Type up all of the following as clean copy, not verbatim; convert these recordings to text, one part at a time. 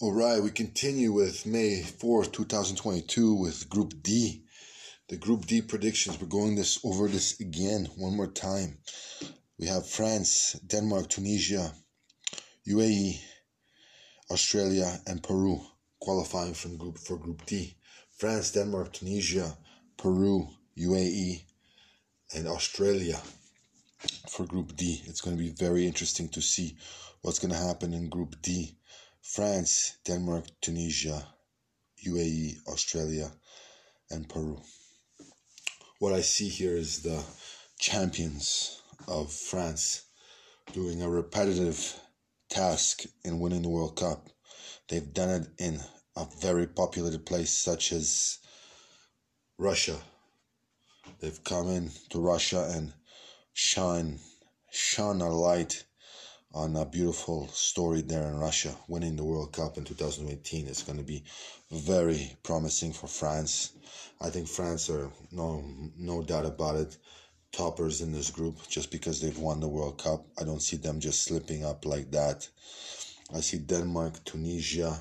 All right, we continue with May 4th, 2022 with Group D. The Group D predictions, we're going over this again one more time. We have France, Denmark, Tunisia, UAE, Australia, and Peru qualifying for Group D. France, Denmark, Tunisia, Peru, UAE, and Australia for Group D. It's going to be very interesting to see what's going to happen in Group D. France, Denmark, Tunisia, UAE, Australia, and Peru. What I see here is the champions of France doing a repetitive task in winning the World Cup. They've done it in a very populated place such as Russia. They've come in to Russia and shone a light on a beautiful story there in Russia, winning the World Cup in 2018. It's going to be very promising for France. I think France are, no doubt about it, toppers in this group just because they've won the World Cup. I don't see them just slipping up like that. I see Denmark, Tunisia,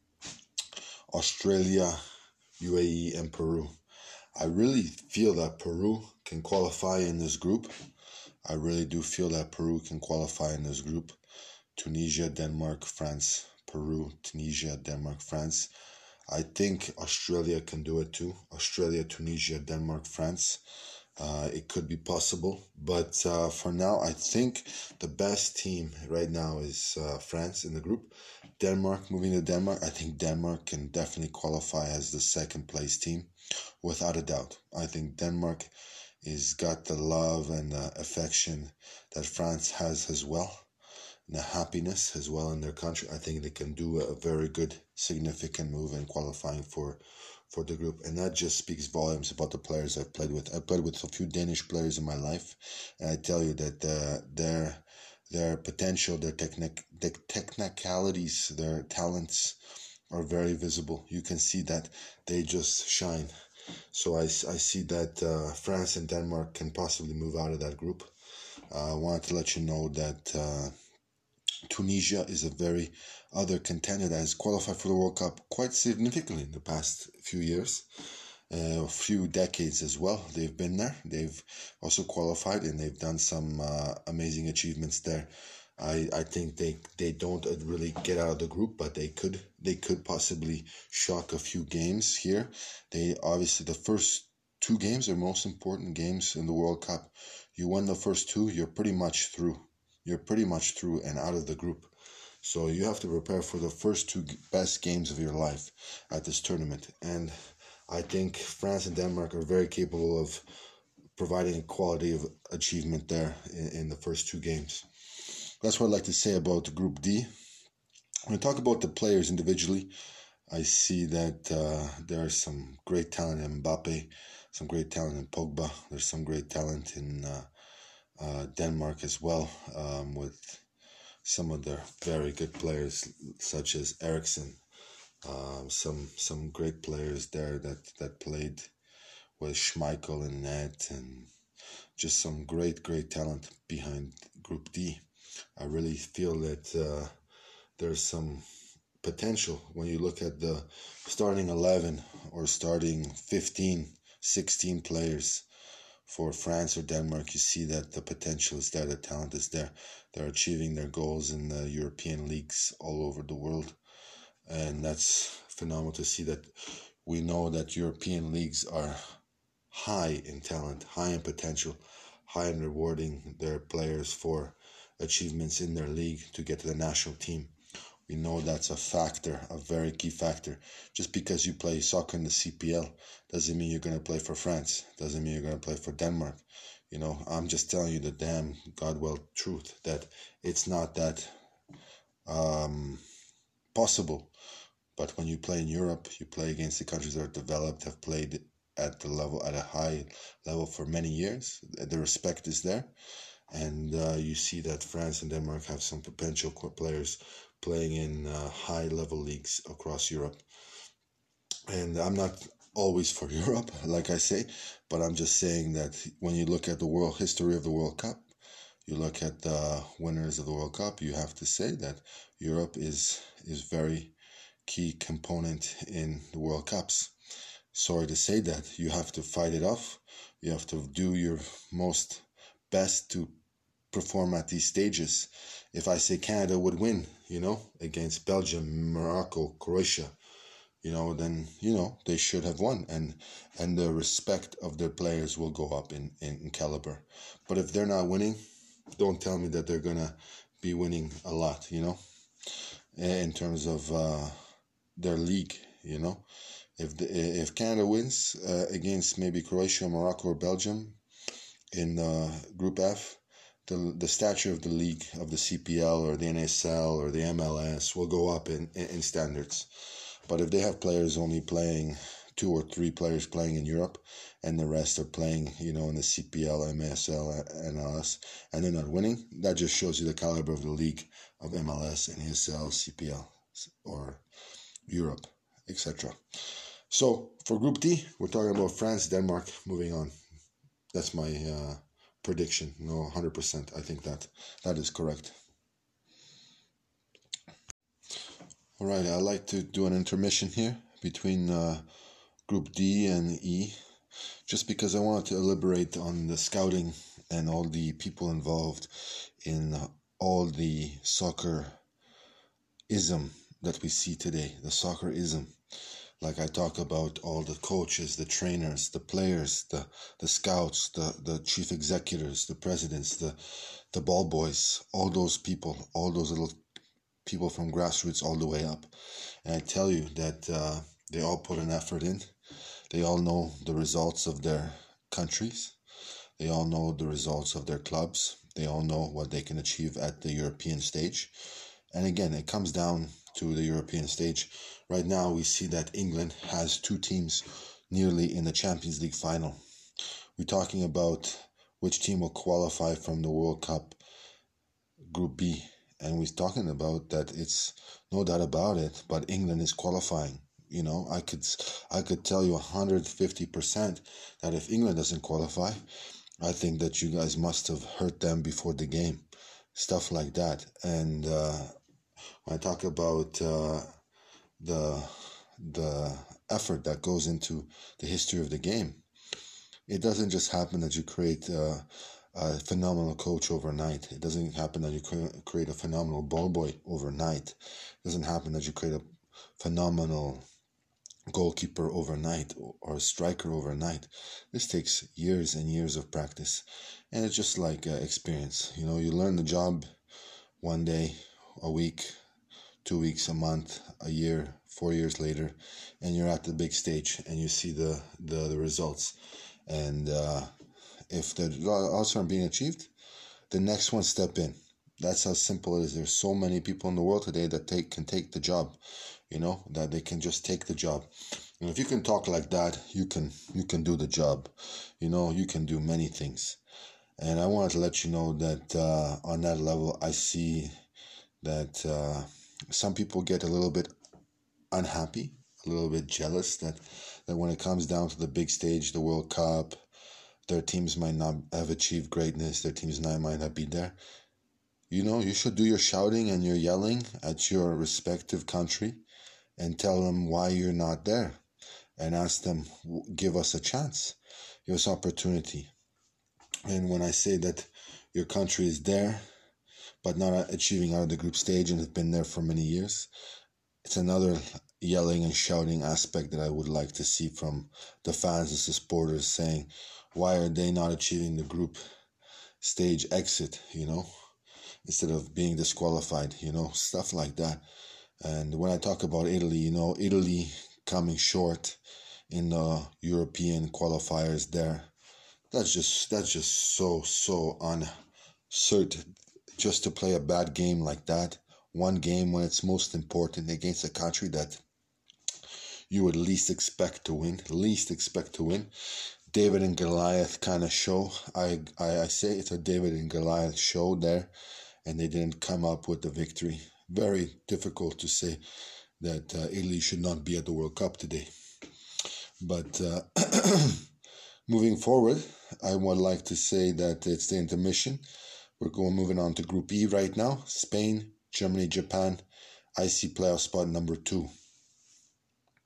Australia, UAE, and Peru. I really feel that Peru can qualify in this group. I really do feel that Peru can qualify in this group. Tunisia, Denmark, France. Peru, Tunisia, Denmark, France. I think Australia can do it too. Australia, Tunisia, Denmark, France. It could be possible. But for now, I think the best team right now is France in the group. Denmark, moving to Denmark. I think Denmark can definitely qualify as the second place team, without a doubt. I think Denmark is got the love and affection that France has as well, and the happiness as well in their country. I think they can do a very good, significant move in qualifying for the group, and that just speaks volumes about the players I've played with. I played with a few Danish players in my life, and I tell you that their potential, their technicalities, their talents are very visible. You can see that they just shine. So I see that France and Denmark can possibly move out of that group. I wanted to let you know that Tunisia is a very other contender that has qualified for the World Cup quite significantly in the past few years, a few decades as well. They've been there. They've also qualified and they've done some amazing achievements there. I think they don't really get out of the group, but they could possibly shock a few games here. They obviously, the first two games are most important games in the World Cup. You win the first two, you're pretty much through. You're pretty much through and out of the group. So you have to prepare for the first two best games of your life at this tournament. And I think France and Denmark are very capable of providing a quality of achievement there in the first two games. That's what I'd like to say about Group D. When I talk about the players individually, I see that there is some great talent in Mbappe, some great talent in Pogba. There's some great talent in Denmark as well, with some of their very good players such as Eriksen. Some great players there that played with Schmeichel and net, and just some great talent behind Group D. I really feel that there's some potential when you look at the starting 11 or starting 15, 16 players for France or Denmark. You see that the potential is there, the talent is there. They're achieving their goals in the European leagues all over the world, and that's phenomenal to see that. We know that European leagues are high in talent, high in potential, high in rewarding their players for achievements in their league to get to the national team. We know that's a factor, a very key factor. Just because you play soccer in the CPL doesn't mean you're going to play for France, doesn't mean you're going to play for Denmark. You know, I'm just telling you the damn God-well truth that it's not that possible. But when you play in Europe, you play against the countries that are developed, have played at a high level for many years. The respect is there. And you see that France and Denmark have some potential players playing in high-level leagues across Europe. And I'm not always for Europe, like I say, but I'm just saying that when you look at the world history of the World Cup, you look at the winners of the World Cup, you have to say that Europe is very key component in the World Cups. Sorry to say that. You have to fight it off. You have to do your most best to perform at these stages. If I say Canada would win, against Belgium, Morocco, Croatia, then they should have won, and the respect of their players will go up in caliber. But if they're not winning, don't tell me that they're gonna be winning a lot, in terms of their league, If Canada wins against maybe Croatia, Morocco, or Belgium in Group F, the stature of the league, of the CPL or the NSL or the MLS, will go up in standards. But if they have players only playing, 2 or 3 players playing in Europe, and the rest are playing, in the CPL, MSL, NLS, and they're not winning, that just shows you the caliber of the league of MLS, NSL, CPL, or Europe, etc. So for Group D, we're talking about France, Denmark, moving on. That's my prediction. 100%. I think that is correct. All right, I'd like to do an intermission here between Group D and E, just because I wanted to elaborate on the scouting and all the people involved in all the soccer-ism that we see today, the soccer-ism. Like I talk about all the coaches, the trainers, the players, the scouts, the chief executives, the presidents, the ball boys, all those people, all those little people from grassroots all the way up. And I tell you that they all put an effort in. They all know the results of their countries. They all know the results of their clubs. They all know what they can achieve at the European stage. And again, it comes down to the European stage. Right now, we see that England has 2 teams nearly in the Champions League final. We're talking about which team will qualify from the World Cup Group B. And we're talking about that it's no doubt about it, but England is qualifying. I could tell you 150% that if England doesn't qualify, I think that you guys must have hurt them before the game. Stuff like that. And when I talk about the effort that goes into the history of the game, it doesn't just happen that you create a phenomenal coach overnight. It doesn't happen that you create a phenomenal ball boy overnight. It doesn't happen that you create a phenomenal goalkeeper overnight or a striker overnight. This takes years and years of practice, and it's just like experience. You learn the job one day, a week, 2 weeks, a month, a year, 4 years later, and you're at the big stage and you see the results. And if the results aren't being achieved, the next one step in. That's how simple it is. There's so many people in the world today that can take the job, that they can just take the job. And if you can talk like that, you can do the job. You can do many things. And I wanted to let you know that on that level, I see that some people get a little bit unhappy, a little bit jealous that when it comes down to the big stage, the World Cup, their teams might not have achieved greatness. Their teams might not be there. You should do your shouting and your yelling at your respective country and tell them why you're not there and ask them, give us a chance, give us opportunity. And when I say that your country is there but not achieving out of the group stage and has been there for many years, it's another yelling and shouting aspect that I would like to see from the fans and the supporters, saying, why are they not achieving the group stage exit, instead of being disqualified, stuff like that. And when I talk about Italy, Italy coming short in the European qualifiers there, that's just so uncertain. Just to play a bad game like that, one game when it's most important against a country that you would least expect to win. David and Goliath kind of show. I say it's a David and Goliath show there, and they didn't come up with the victory. Very difficult to say that Italy should not be at the World Cup today. But moving forward, I would like to say that it's the intermission. We're moving on to Group E right now. Spain, Germany, Japan. I see playoff spot number 2.